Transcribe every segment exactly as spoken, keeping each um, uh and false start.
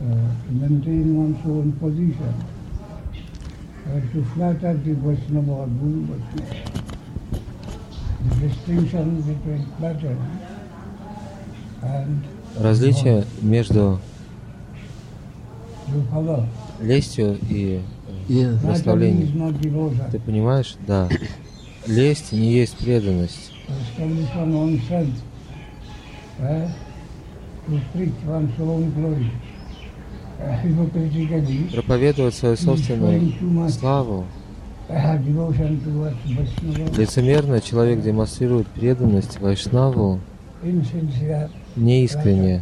maintain one's own position. Uh, to flatter the Vaishnava or Guru Vaishnava. The distinction between flattery and Различие между you follow. лестью и Flattery is прославлением. not devotion. Ты понимаешь? Да. Лесть не есть преданность. Establish one's own strength. Uh, to preach one's own glory. Uh, hypocritically, Проповедовать свою собственную славу. uh, devotion towards Vaishnava, Лицемерно человек демонстрирует преданность Вайшнаву insincere. неискренне.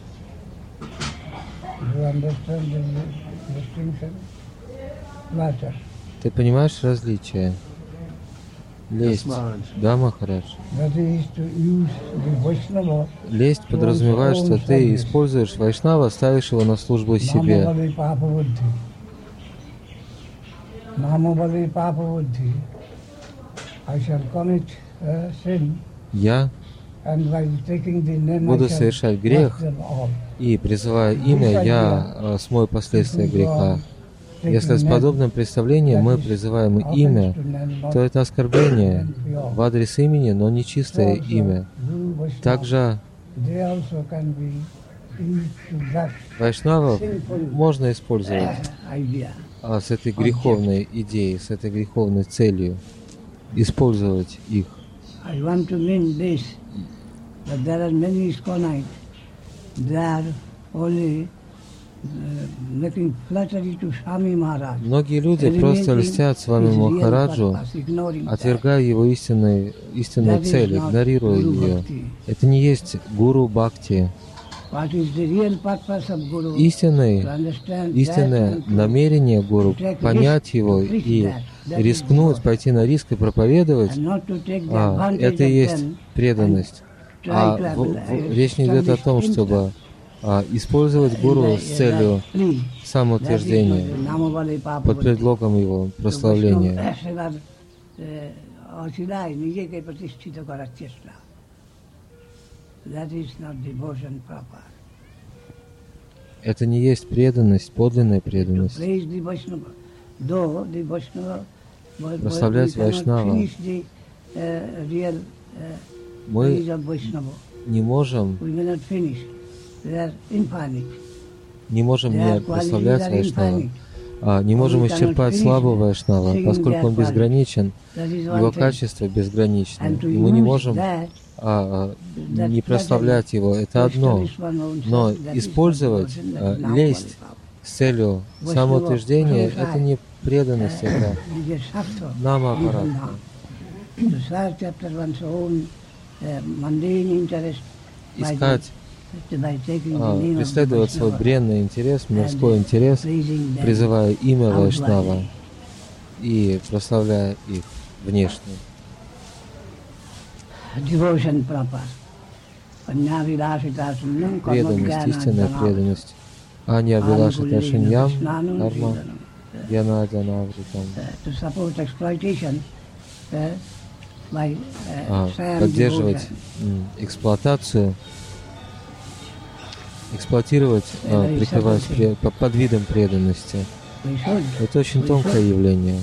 You understand the distinction? Flatter. Ты понимаешь различие? Лесть. Да, Махарадж. That is to use the Vaishnava. Лесть подразумевает, что ты используешь Вайшнава, ставишь его на службу себе. Namavali Papa Buddhi. Namavali Papa Buddhi. I shall commit uh, sin, Я and by taking the name I буду shall совершать грех, wash them all. и, призывая имя, я э, смою последствия греха. Если с подобным представлением мы призываем имя, то это оскорбление в адрес имени, но не чистое имя. Также They also can be used to that Вайшнавов можно использовать idea. а, с этой греховной идеей, с этой греховной целью, использовать их. I want to mean this, that there are many Iskonites, they are only uh, making flattery to Swami Maharaj. Многие люди просто льстят с вами Махараджу, отвергая его истинную, истинную цель, игнорируя ее. Это не есть гуру бхакти. Истинный, истинное намерение гуру — понять его и рискнуть, пойти на риск и проповедовать, а, это и есть преданность. А в, в, речь не идет о том, чтобы а, использовать гуру с целью самоутверждения под предлогом его прославления. Это не есть преданность, подлинная преданность. Прославлять Вайшнава. Мы не можем, не можем не прославлять Вайшнава, а не можем исчерпать славу Вайшнава, поскольку он безграничен, его качество безгранично, и мы не можем а, не прославлять его. Это одно, но использовать а, лесть с целью самоутверждения — это не преданность, это нама-аппарат. Искать, а, преследовать свой бренный интерес, мирской интерес, призывая имя Вайшнава и прославляя их внешне. Преданность, истинная преданность. Аня Вилашита Шиньям, Карма, Яна Джанавритам. А, поддерживать м, эксплуатацию, эксплуатировать, а, прикрываясь пре, под видом преданности. Это очень тонкое явление.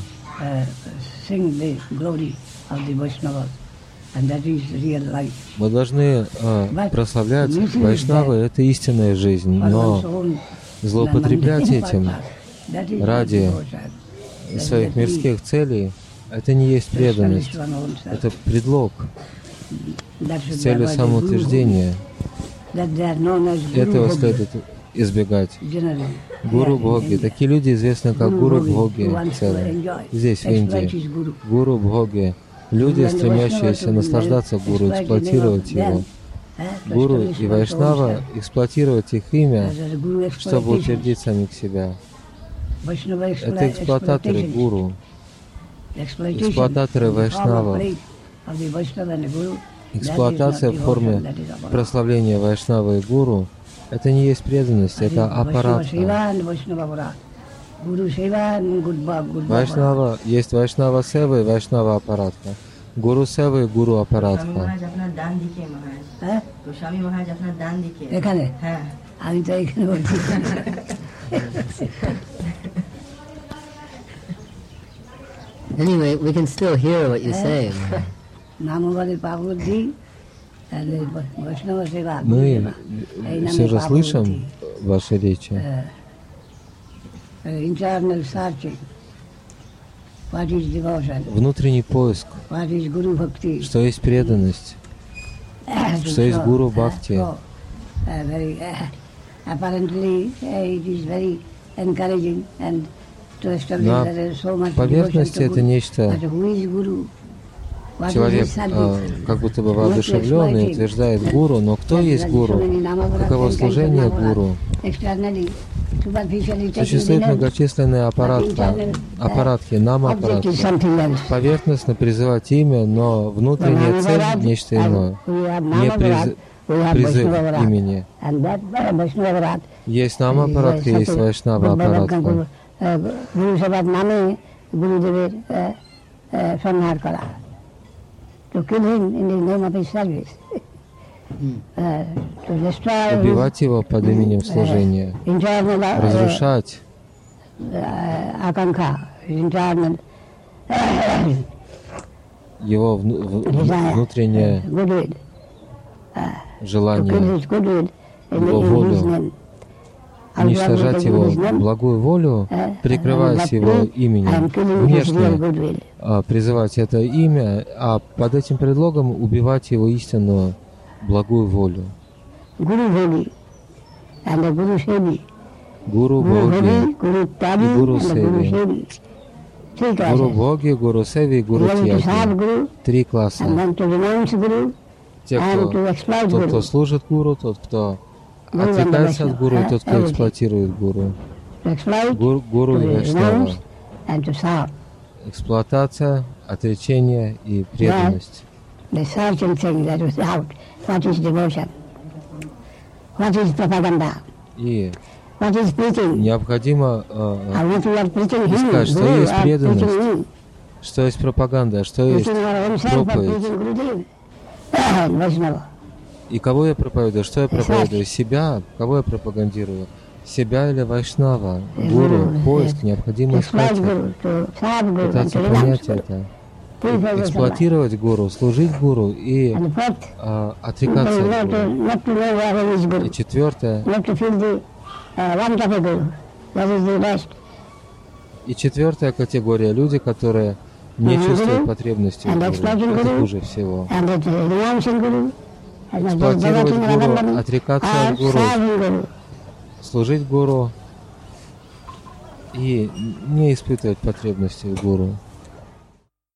Мы должны а, прославлять Вайшнавы, это истинная жизнь, но злоупотреблять этим ради своих мирских целей — это не есть преданность, это предлог с целью самоутверждения. Этого следует избегать. Гуру Бхоги. Такие люди известны как Гуру Бхоги здесь, в Индии. Гуру Бхоги. Люди, стремящиеся наслаждаться гуру, эксплуатировать его. Гуру и Вайшнава эксплуатировать их имя, чтобы утвердить самих себя. Это эксплуататоры гуру, эксплуататоры Вайшнава. Эксплуатация в форме прославления Вайшнава и гуру — это не есть преданность, это аппаратка. Вайшнава, есть Вайшнава Сева и Вайшнава аппаратка. Гуру Сева и Гуру аппаратка. Anyway, we can still hear what you say. Мы все же слышим ваши речи. Внутренний поиск. Что есть преданность? Что есть гуру бхакти? На поверхности это нечто. Человек э, как будто бы воодушевленный утверждает гуру, но кто есть гуру? Каково служение гуру? Существуют многочисленные аппаратки, аппаратки, нам-аппаратки. Поверхностно призывать имя, но внутренняя цель – нечто иное. Не приз... призыв имени. Есть нам-аппаратка, есть вайшнава-аппаратка. Убивать его под именем служения, разрушать его внутреннее желание, его волю, уничтожать его благую волю, прикрываясь его именем, внешне призывать это имя, а под этим предлогом убивать его истинную благую волю. Гуру Боги, Гуру Севи, Гуру Боги, Гуру Севи, Гуру Тьяги. Три класса. Те, кто, тот, кто служит гуру, тот, кто отрекается от гуру, и тот, кто эксплуатирует гуру. Гуру, гуру и вайшнава. Эксплуатация, отречение и преданность. И необходимо э, искать, что есть преданность, что есть пропаганда, что есть проповедь. И кого я проповедую? Что я проповедую? Себя? Кого я пропагандирую? Себя или вайшнава? Гуру, поиск, необходимо искать это. Пытаться понять это. Эксплуатировать гуру, служить гуру и а, отрекаться от гуру. И четвертое. И четвертая категория — люди, которые не чувствуют потребности в гуру. Это хуже всего. Эксплуатировать гуру, отрекаться от гуру, служить гуру и не испытывать потребности в гуру.